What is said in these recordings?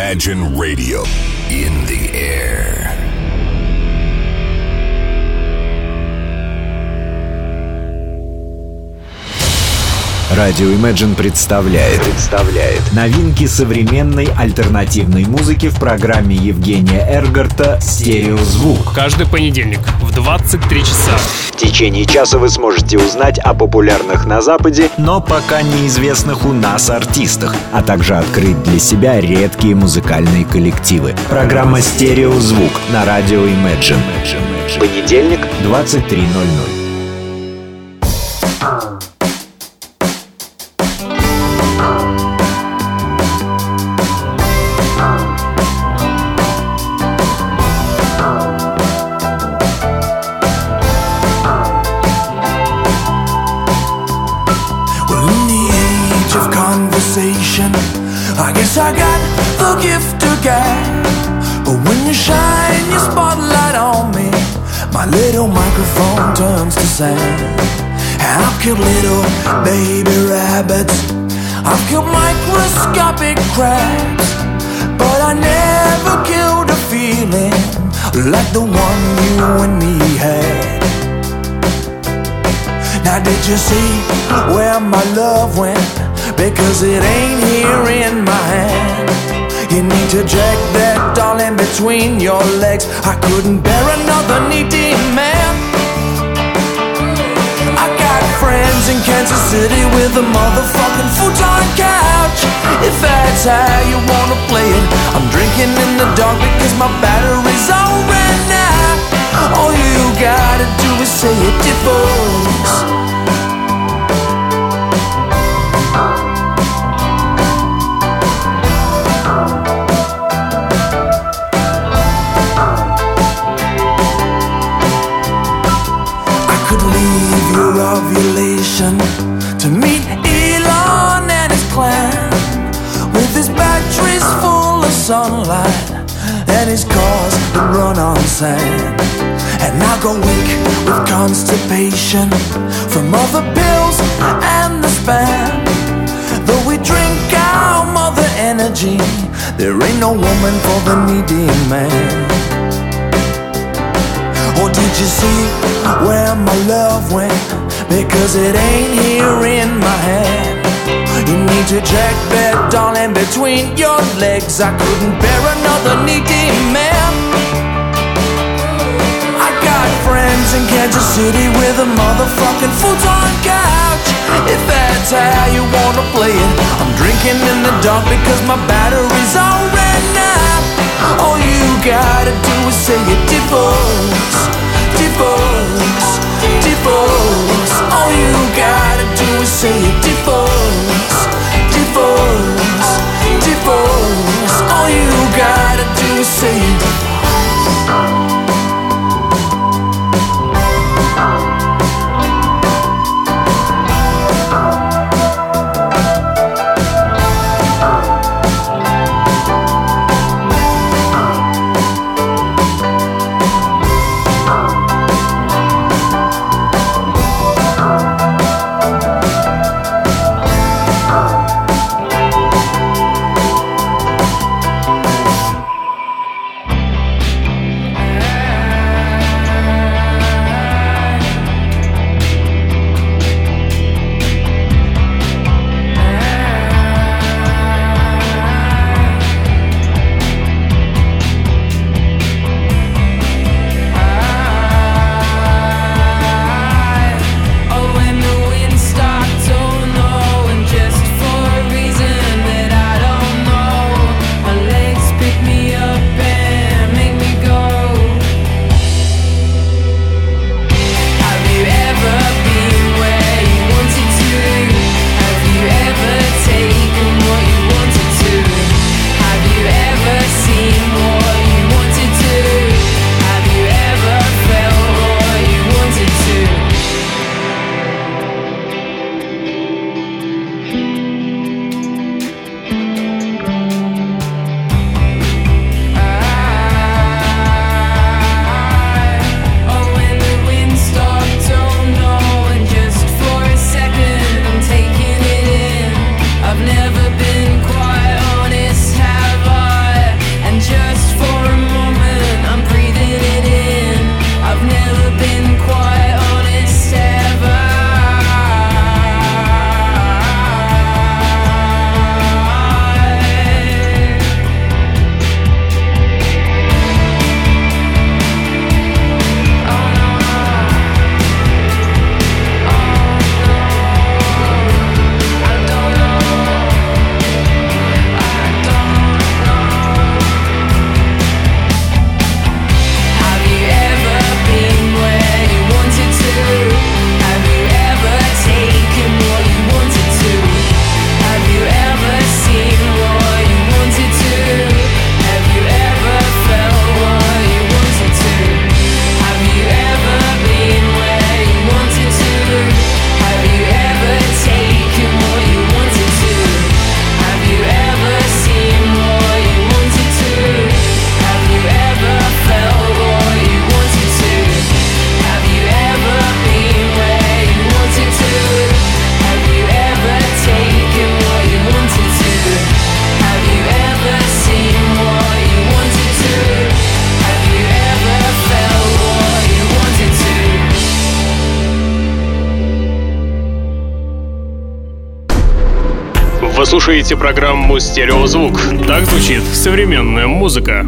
Imagine Radio in the air. Радио Imagine представляет новинки современной альтернативной музыки в программе Евгения Эргарта «Стереозвук». Каждый понедельник в 23 часа. В течение часа вы сможете узнать о популярных на Западе, но пока неизвестных у нас артистах, а также открыть для себя редкие музыкальные коллективы. Программа «Стереозвук» на радио Imagine. Понедельник, 23:00. I guess I got the gift of gab, but when you shine your spotlight on me, my little microphone turns to sand. And I've killed little baby rabbits, I've killed microscopic crabs, but I never killed a feeling like the one you and me had. Now did you see where my love went? Because it ain't here in my hand. You need to drag that doll in between your legs. I couldn't bear another needy man. I got friends in Kansas City with a motherfucking futon couch. If that's how you wanna play it, I'm drinking in the dark because my battery's all ran out. All you gotta do is say it, divorce. Ovulation to meet Elon and his clan, with his batteries full of sunlight and his cars that run on sand. And I go weak with constipation from other pills and the spam. Though we drink our mother energy, there ain't no woman for the needy man. Or did you see where my love went? Because it ain't here in my hand. You need to jack that doll in between your legs. I couldn't bear another needy man. I got friends in Kansas City with a motherfucking futon couch. If that's how you wanna play it, I'm drinking in the dark because my battery's all ran out. All you gotta do is say it, divorce, divorce, divorce. All you gotta do is say it, divorce, divorce, divorce. All you gotta do is say it. слушаете программу «Стереозвук». Так звучит современная музыка.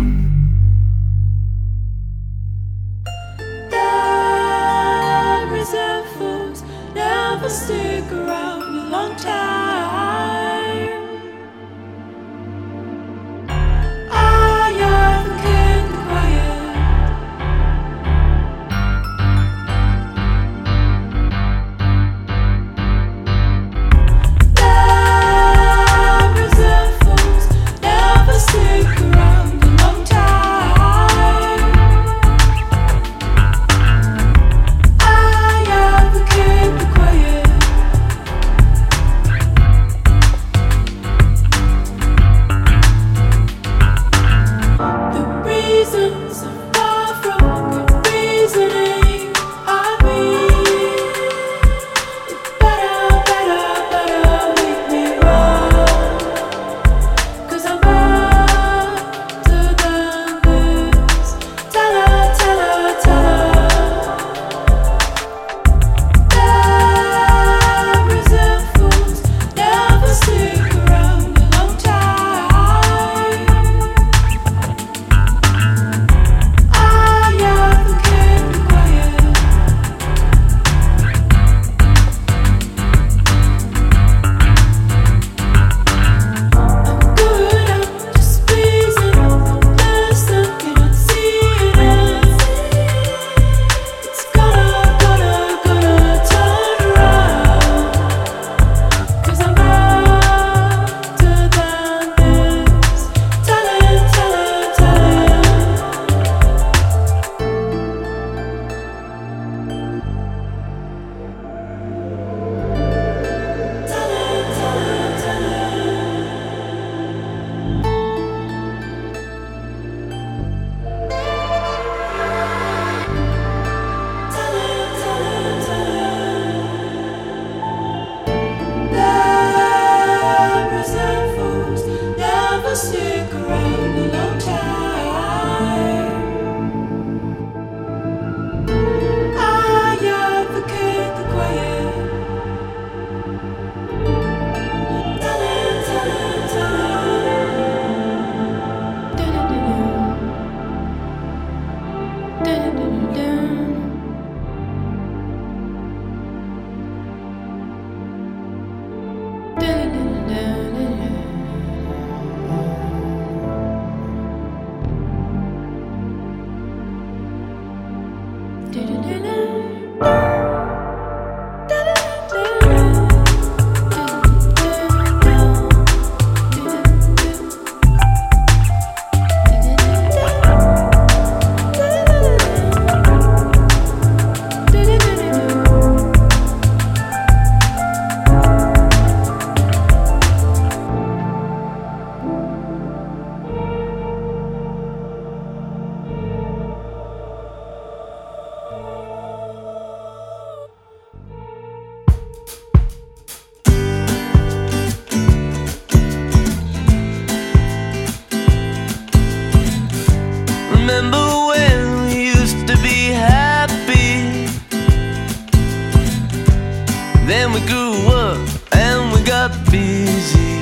Then we grew up and we got busy.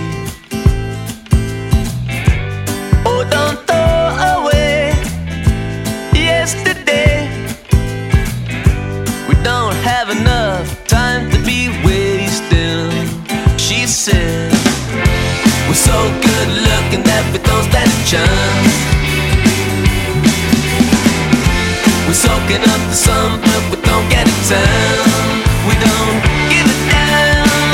Oh, don't throw away yesterday. We don't have enough time to be wasting. She said, we're so good looking that we don't stand a chance. We're soaking up the sun, but we don't get a tan. We don't give a damn.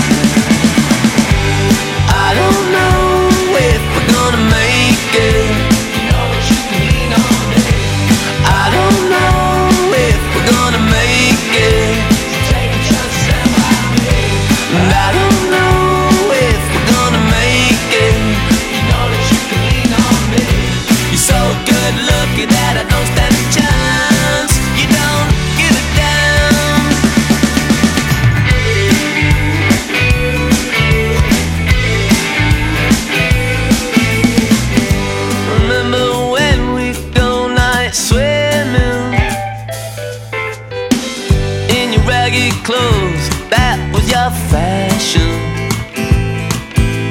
I don't know if we're gonna make it. You know that you can lean on me. I don't know if we're gonna make it. Take a chance and ride me. I don't know if we're gonna make it. You know that you can lean on me. You're so good looking that I don't stand a chance. You don't give a damn. Remember when we'd go night swimming in your ragged clothes? That was your fashion.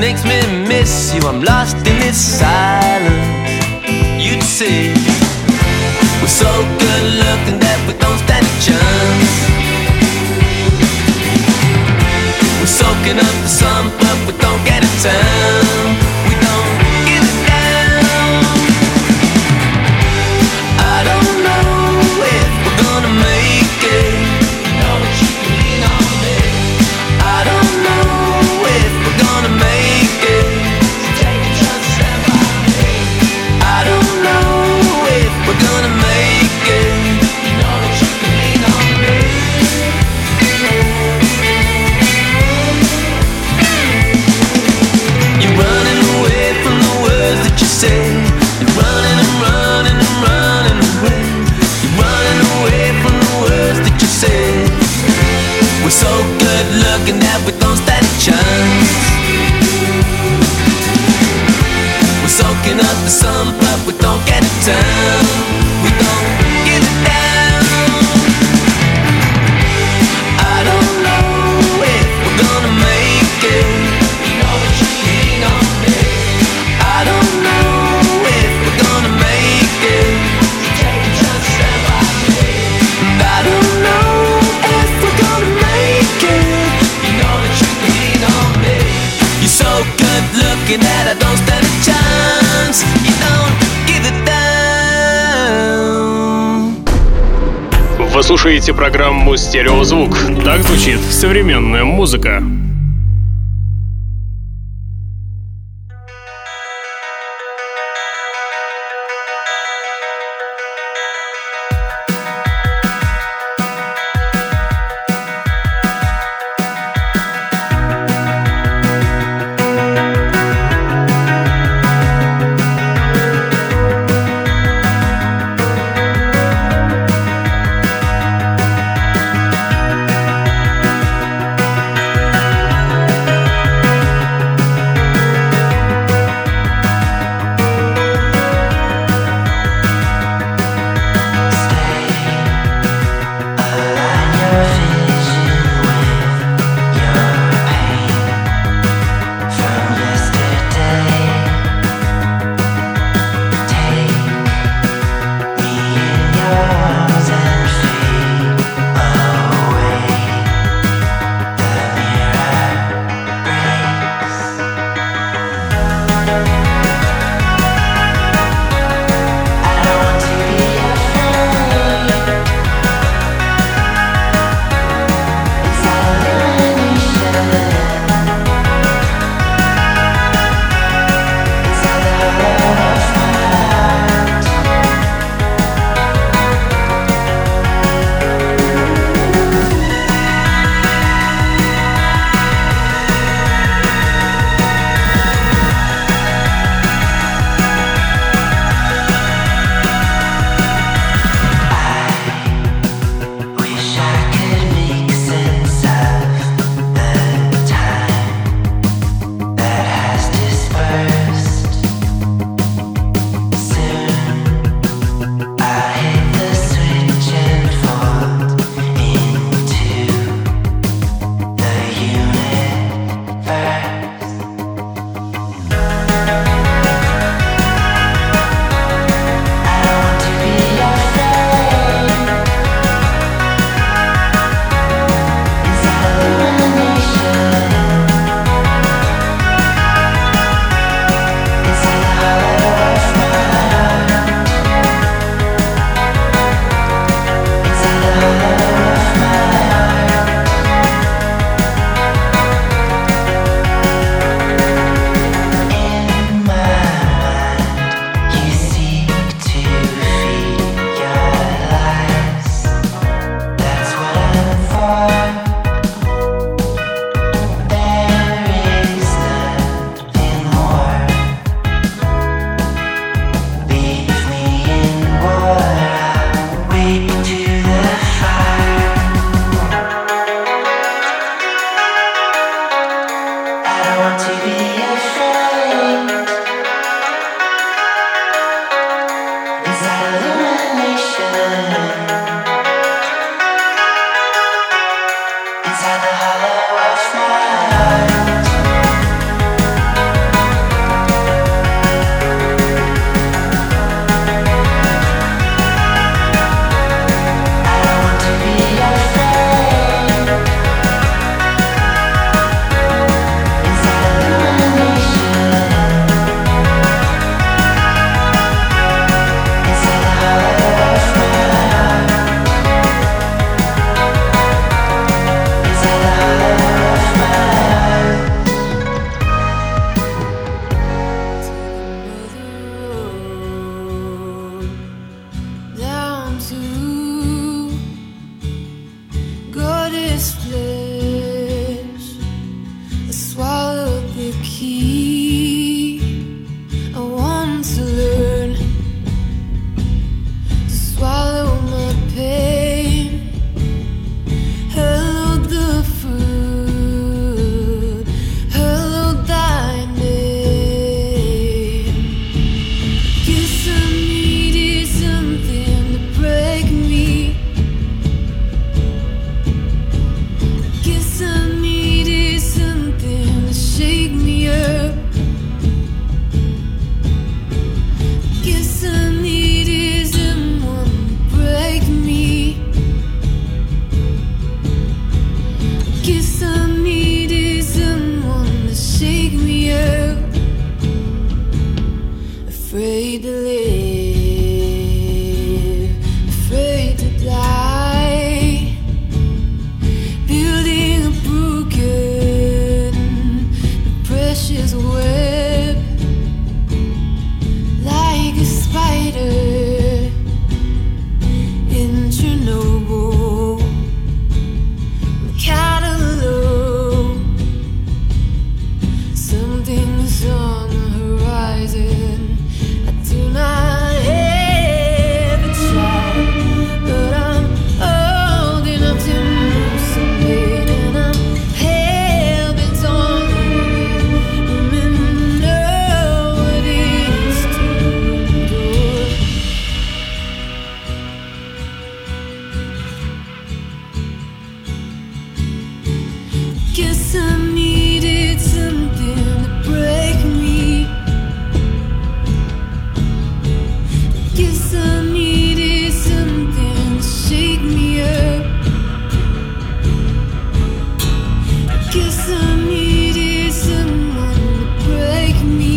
makes me miss you. I'm lost in this silence. You'd see we're so good looking that we don't stand a chance. We're soaking up the sun, but we don't get a tan. We don't get it down. I don't know if we're gonna make it. You know that you can lean on me. I don't know if we're gonna make it. So take a chance, stand by me. I don't know if we're gonna make it. You know that you can lean on me. You're running away from the words that you say. You're running and running and running away. You're running away from the words that you say. We're so good looking that we don't stand a chance. We're soaking up the sun, but we don't get it down. We don't get it down. I don't know if we're gonna make it. You know that you can lean on me. I don't know if we're gonna make it. So take a chance, stand by me. And I don't know if we're gonna make it. You know that you can lean on me. You're so good looking that I don't stand a chance. You don't give it down. Вы слушаете программу «Стереозвук». Так звучит современная музыка. me up, afraid to live, afraid to die, building a broken, precious web, like a spider in Chernobyl. I'm kind of low, something's on the horizon. I do not have a child, but I'm old enough to know some pain, and I'm hell-bent on women know what it is to endure. Guess I needed something to break me. Guess I needed something to shake me up. Guess I needed someone to break me.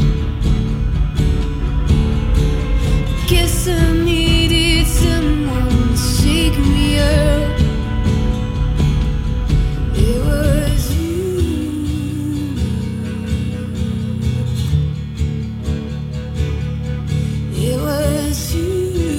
Guess I needed someone to shake me up. It was you. It was you.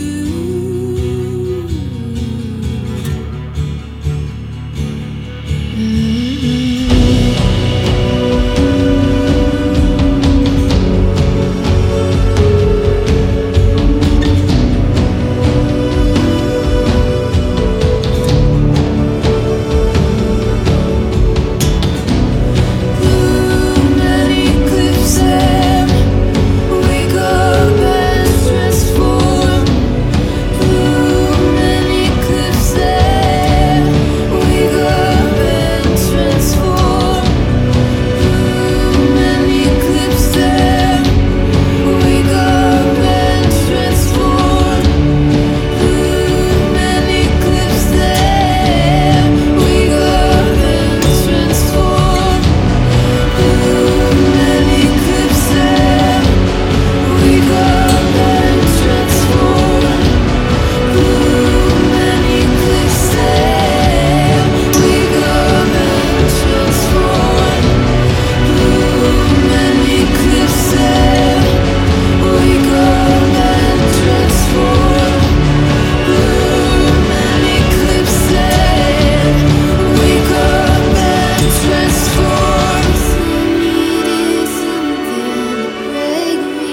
Too many cliffs and wake up and transform. Too many cliffs and wake up and transform. Too many cliffs and wake up and transform. Too many cliffs and wake up and transform. Too many cliffs and wake up and transform. Too many cliffs and wake up and transform. Too many cliffs and wake up and transform. Too many cliffs and wake up and transform. Needed something to break me.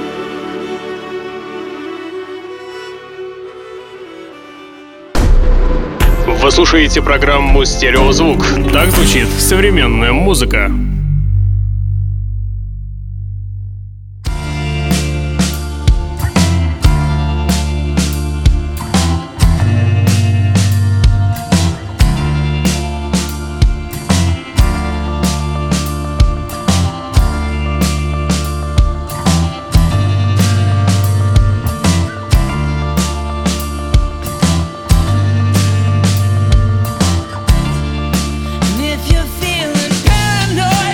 Вы слушаете программу «Стереозвук». Так звучит современная музыка. And if you're feeling paranoid,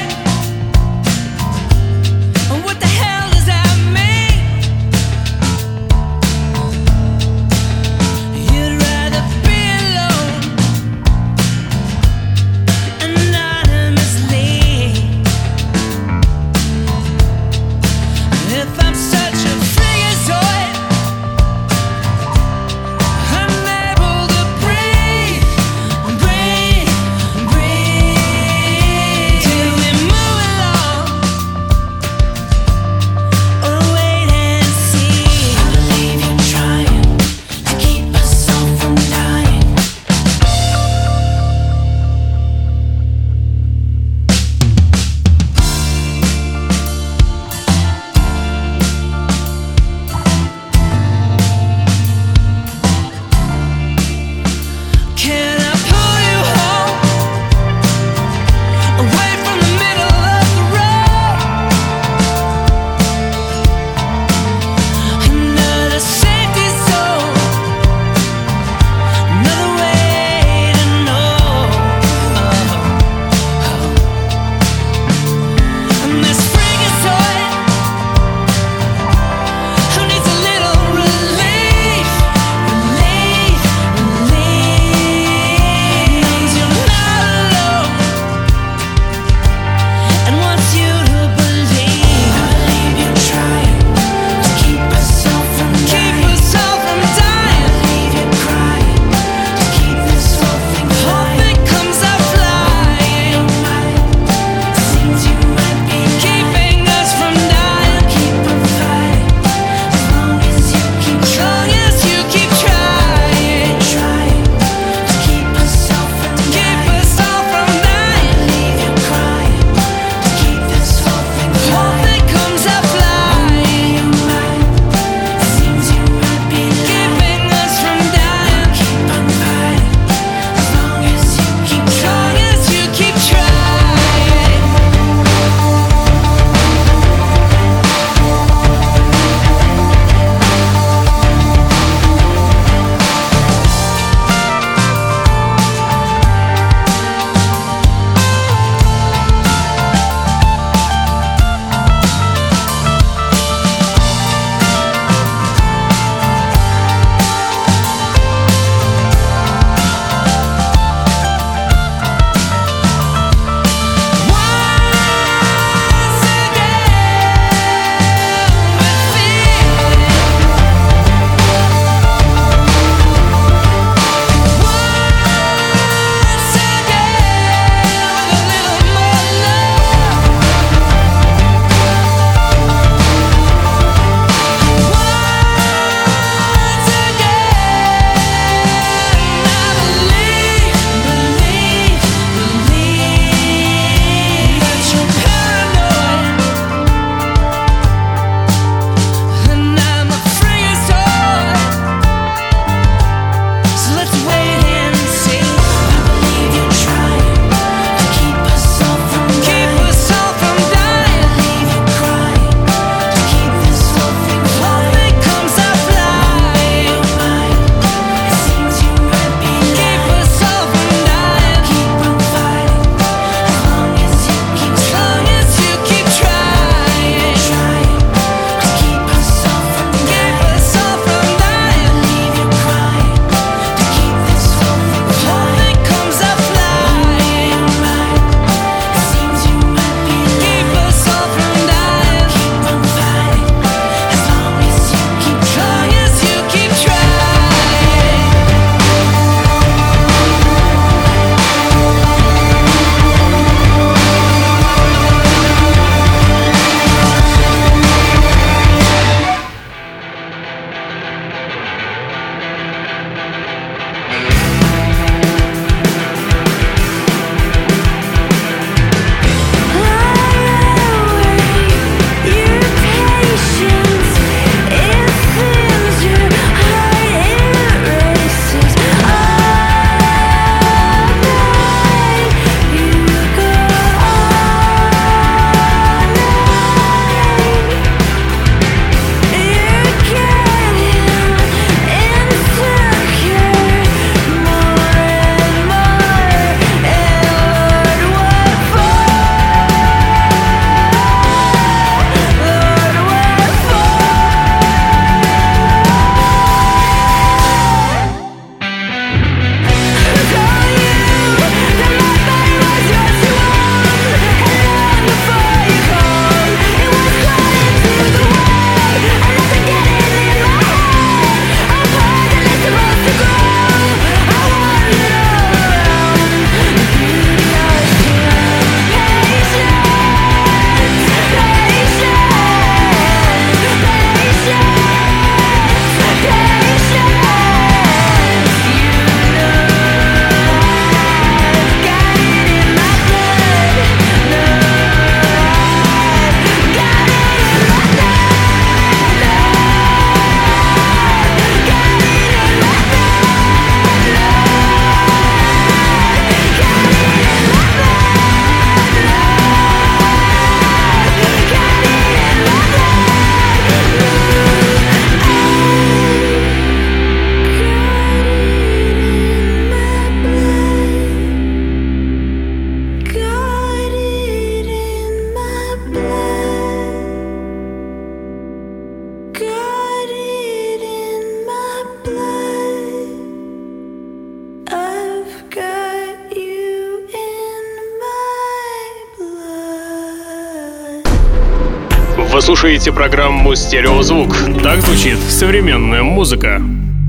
Вы слушаете программу «Стереозвук». Так звучит современная музыка.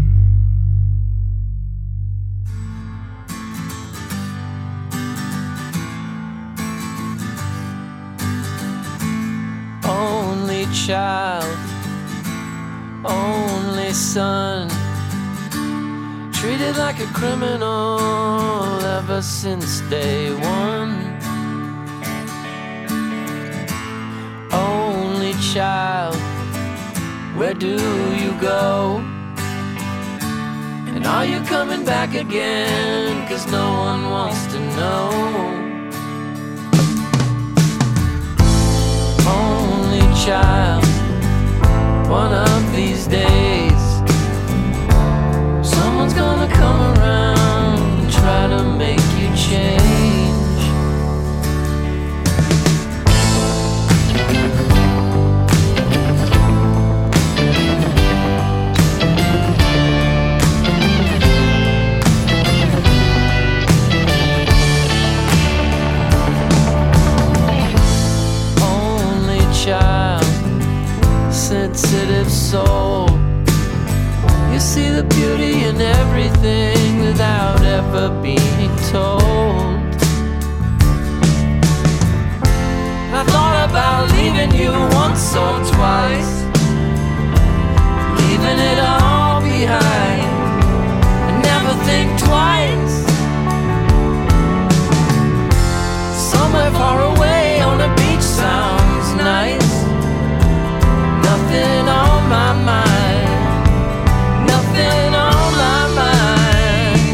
Only child, only son, treated like a criminal ever since day one. Only child, where do you go? And are you coming back again? 'Cause no one wants to know. Only child, one of these days someone's gonna come around and try to make you change. Only child, sensitive soul, you see the beauty in everything without ever being told. I thought about leaving you once or twice, leaving it all behind, and never think twice. Somewhere far away on a beach sounds nice. Nothing on my mind, nothing on my mind.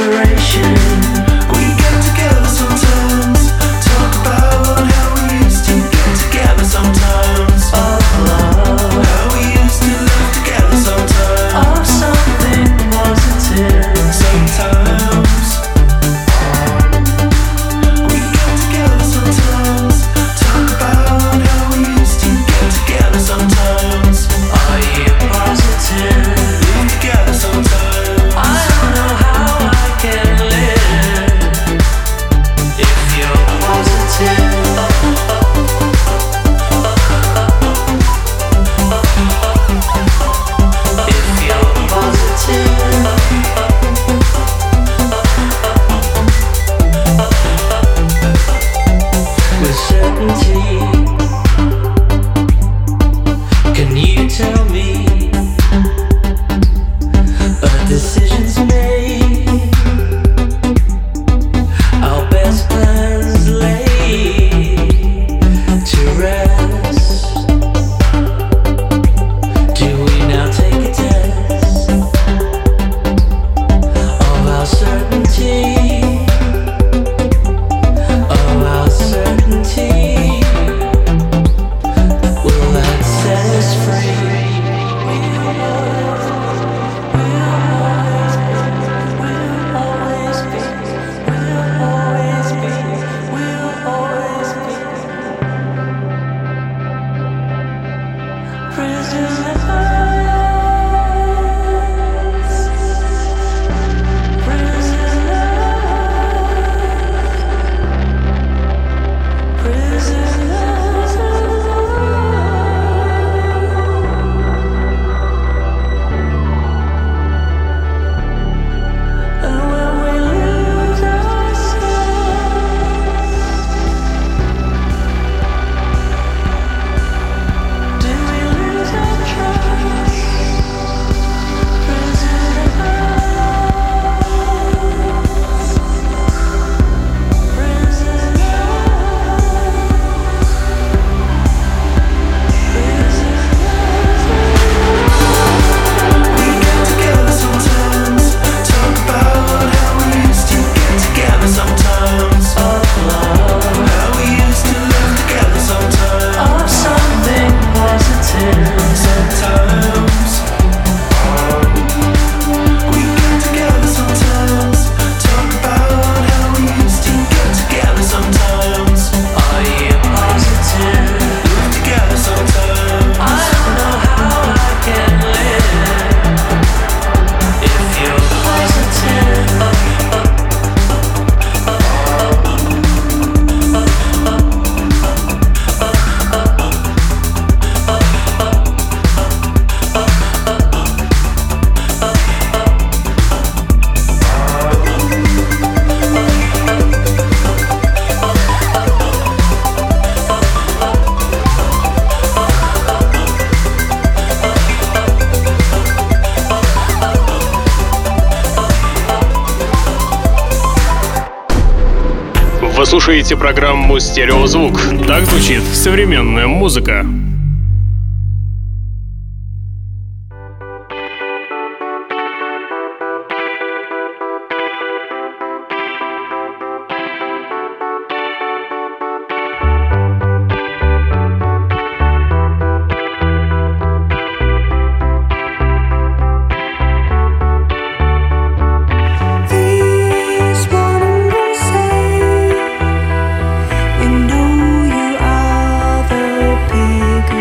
Вы слушаете программу «Стереозвук». Так звучит современная музыка. Big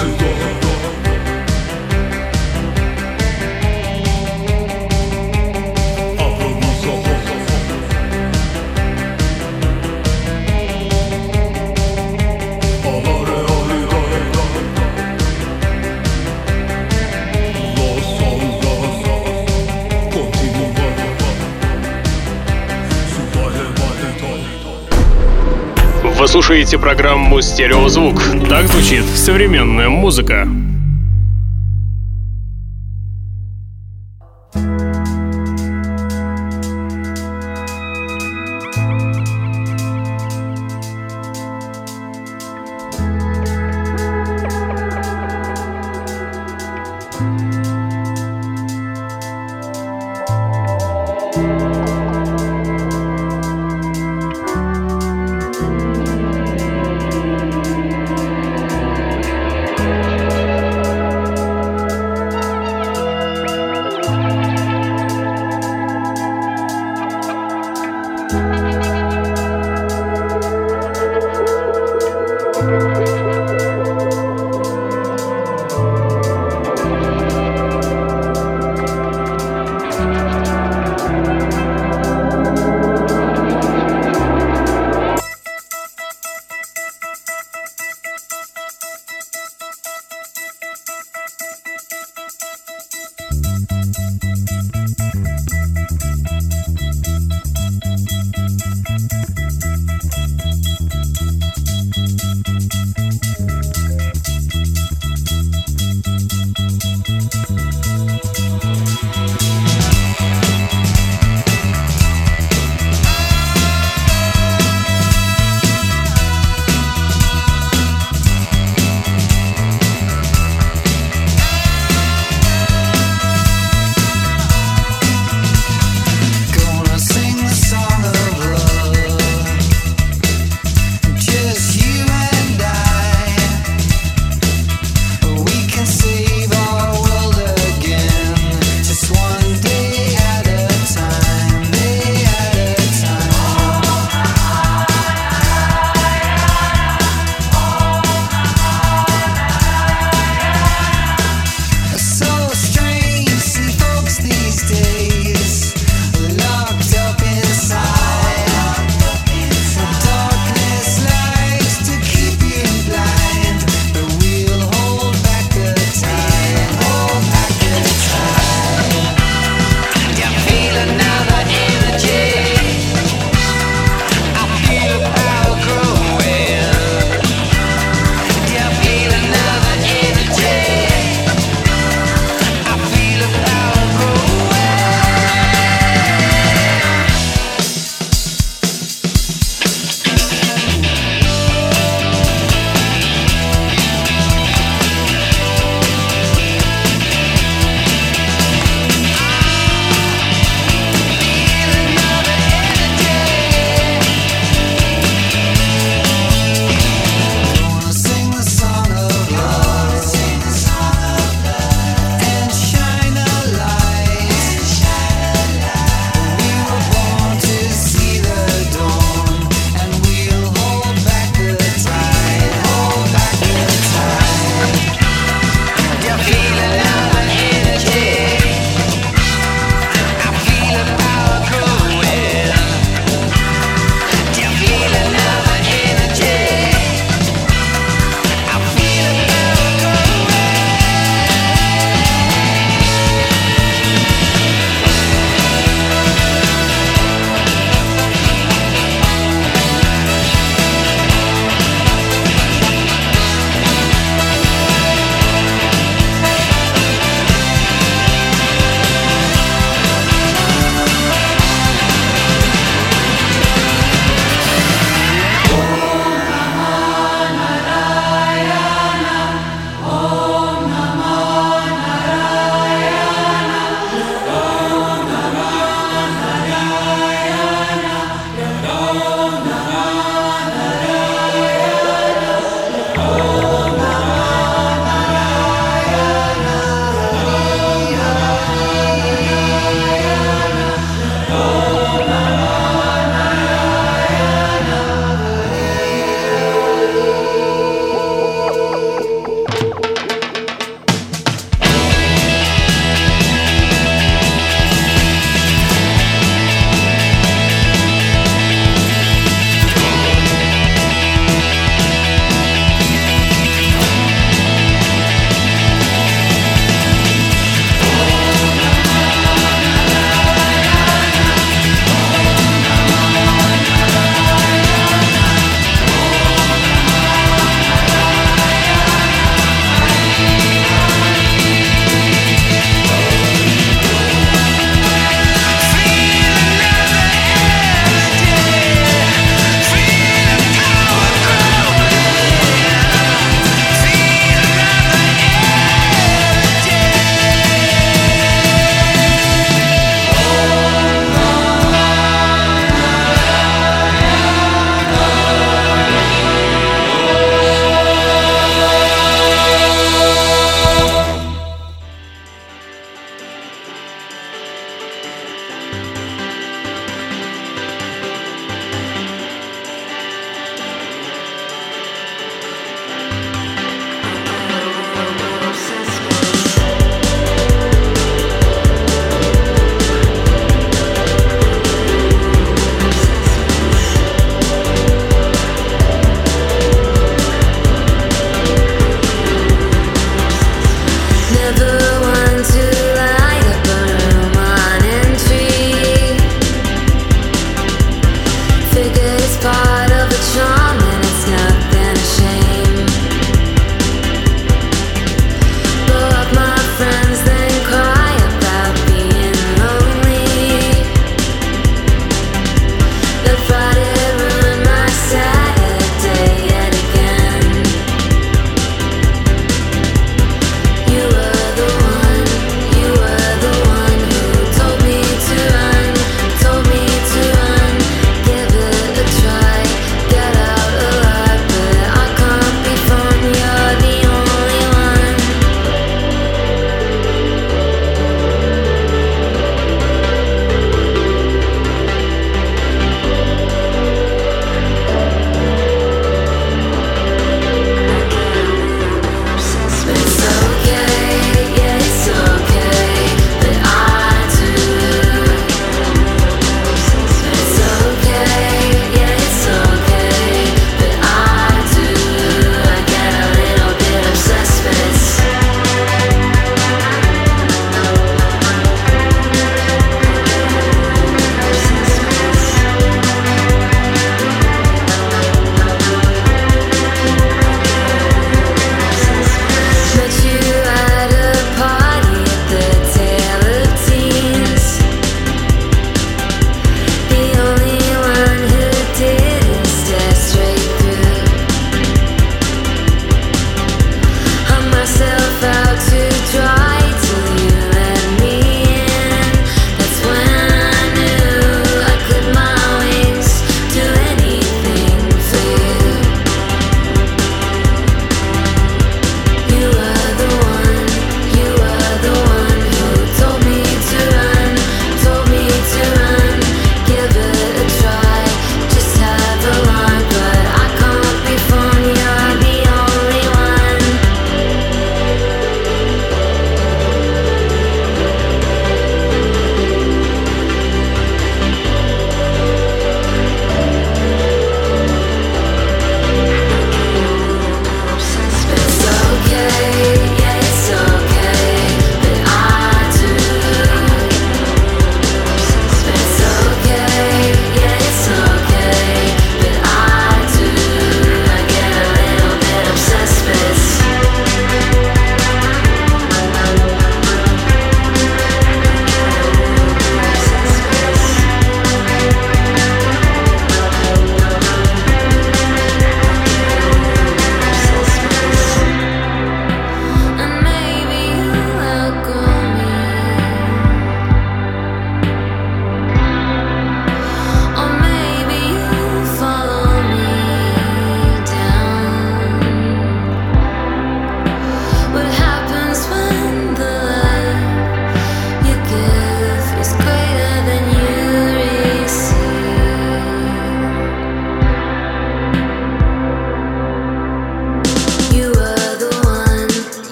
Вы слушаете программу «Стереозвук». Так звучит современная музыка.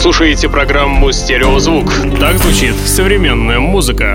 слушаете программу «Стереозвук». Так звучит современная музыка.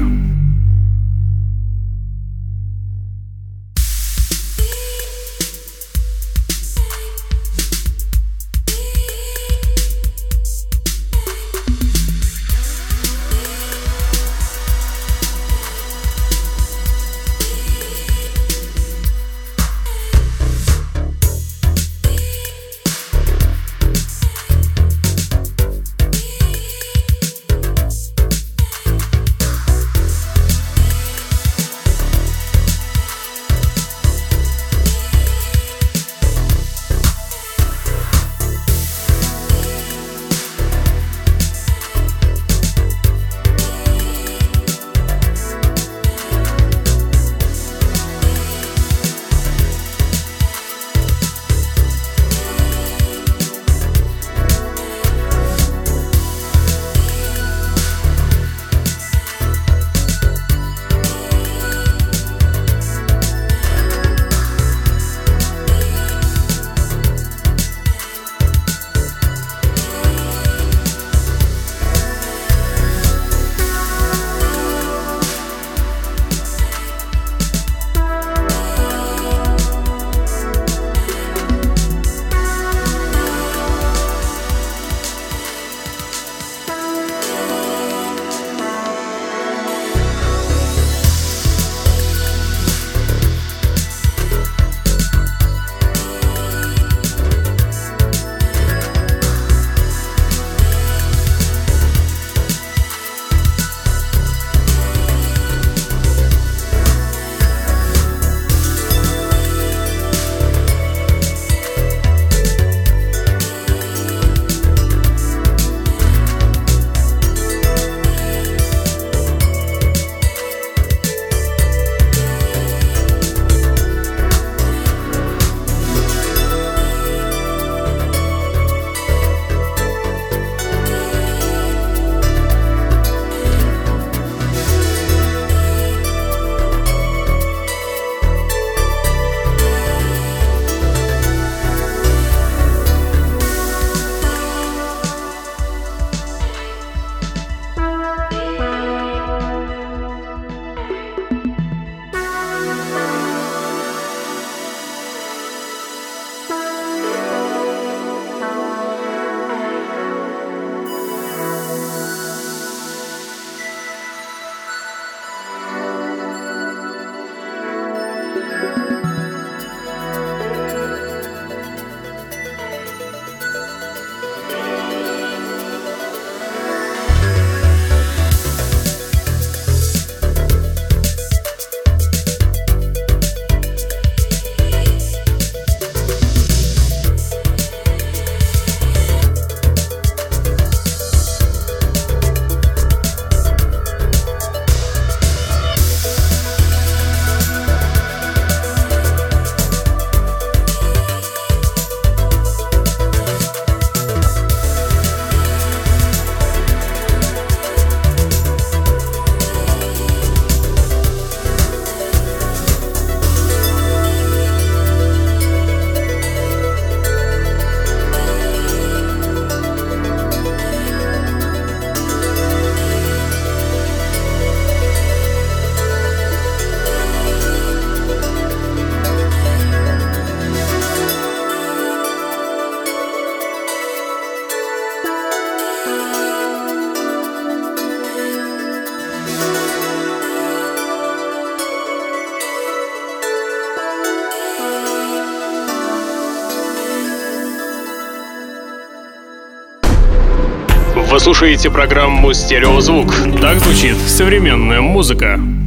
Вы слушаете программу «Стереозвук». Так звучит современная музыка.